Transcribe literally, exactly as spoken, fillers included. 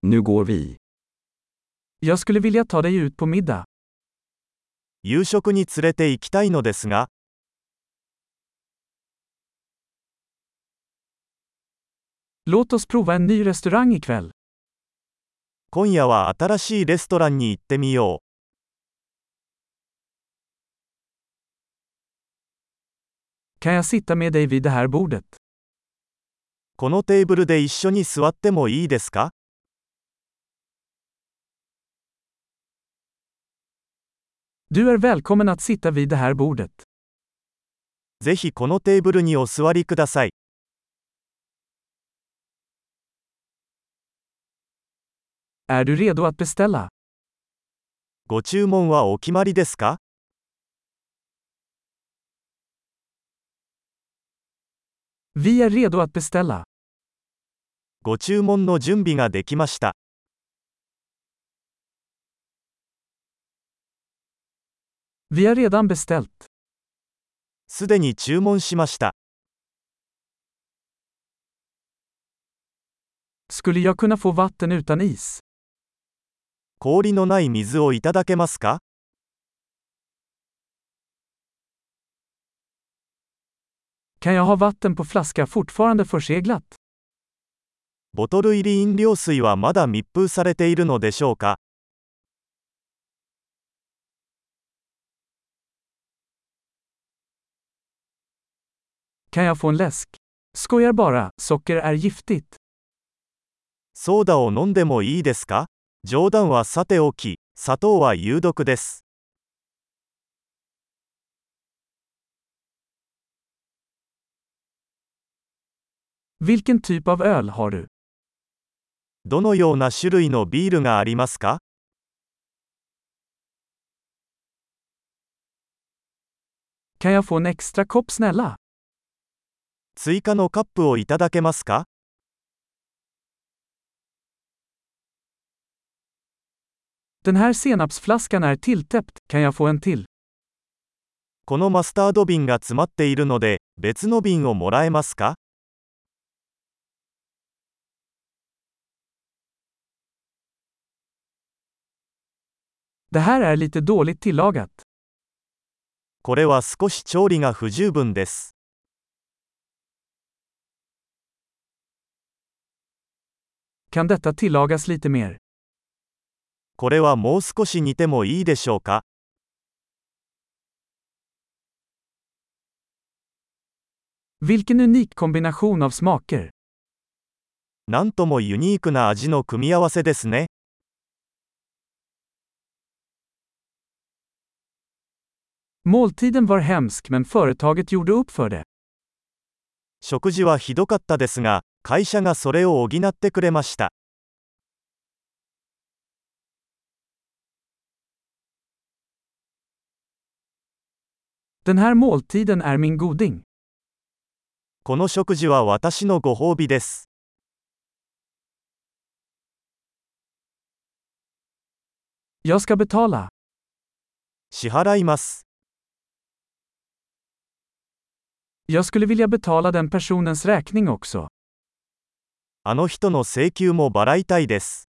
Nu går vi. Jag skulle vilja ta dig ut på middag. 夕食に連れて行きたいのですが、 Låt oss prova en ny restaurang ikväll. 今夜は新しいレストランに行ってみよう。 Kan jag sitta med dig vid det här bordet? このテーブルで一緒に座ってもいいですか？ Du är välkommen att sitta vid det här bordet. ぜひこのテーブルにお座りください。 Är du redo att beställa? ご注文はお決まりですか？ Vi är redo att beställa. ご注文の準備ができました。 Vi har redan beställt. すでに注文しました。 Skulle jag kunna få vatten utan is? 氷のない水をいただけますか？ Kan jag ha vatten på flaska fortfarande förseglat? ボトル入り飲料水はまだ密封されているのでしょうか？ Kan jag få en läsk? Skojar bara, socker är giftigt. ソーダを飲んでもいいですか？冗談はさておき、砂糖は有毒です。 Vilken typ av öl har du? どのような種類のビールがありますか？ Kan jag få en extra kopp snälla? 追加のカップをいただけますか？ Den här senapsflaskan är tilltäppt, kan jag få en till? このマスタード瓶が詰まっているので、別の瓶をもらえますか？ Det här är lite dåligt tillagat. これは少し調理が不十分です。 Kan detta tillagas lite mer? これはもう少し煮てもいいでしょうか？ Vilken unik kombination av smaker. なんともユニークな味の組み合わせですね。 Måltiden var hemsk men företaget gjorde upp för det. 食事はひどかったですが、会社がそれを補ってくれました。 Den här måltiden är min goding. この食事は私のご褒美です。 Jag ska betala. 支払います。 Jag skulle vilja betala den personens räkning också. あの人の請求も払いたいです。